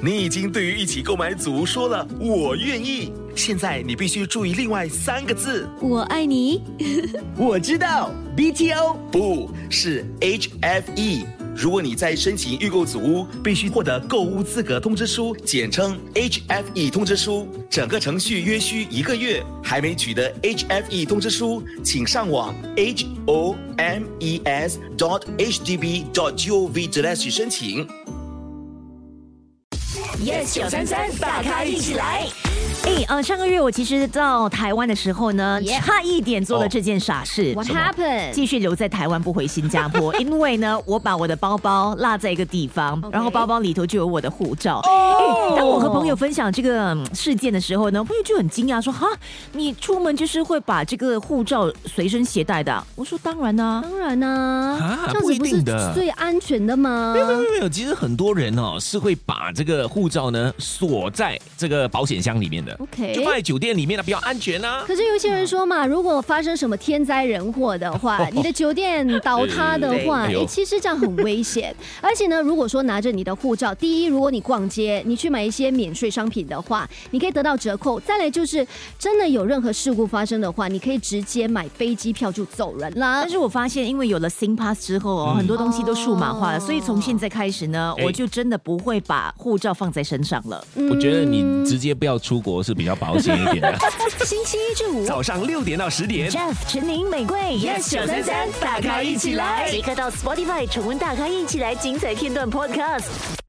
你已经对于一起购买组说了我愿意，现在你必须注意另外3个字。 我爱你。 我知道 BTO 不是 HFE。如果你在申请预购组屋，必须获得购屋资格通知书，简称 HFE 通知书，整个程序约需1个月。还没取得 HFE 通知书，请上网 homes.hdb.gov.hk 申请。 Yes 933大咖一起来。 上个月我其实到台湾的时候呢， Yeah. 差一点做了这件傻事。 What happened？ 继续留在台湾不回新加坡，因为呢，我把我的包包落在一个地方， 然后包包里头就有我的护照。当我和朋友分享这个事件的时候呢，朋友就很惊讶说：“哈，你出门就是会把这个护照随身携带的啊？”我说：“当然啊。” 当然啊，这样不一子不是定的最安全的吗？ 没有，其实很多人是会把这个护照呢锁在这个保险箱里面的。 OK， 就放在酒店里面比较安全啊。 可是有些人说嘛，如果发生什么天灾人祸的话，你的酒店倒塌的话，其实这样很危险。而且呢，如果说拿着你的护照，第一，如果你逛街，你去买一些免税商品的话，你可以得到折扣。再来就是真的有任何事故发生的话，你可以直接买飞机票就走人啦。 但是我发现，因为有了 SingPass 之后很多东西都数码化了，所以从现在开始呢，我就真的不会把护照放在身上了。 我觉得你直接不要出国是比较保险一点的。 星期一至五早上6点到10点 Jeff、陈宁、玫瑰 Yes 933大咖一起来， 即刻到 Spotify 重温大咖一起来精彩片段 Podcast。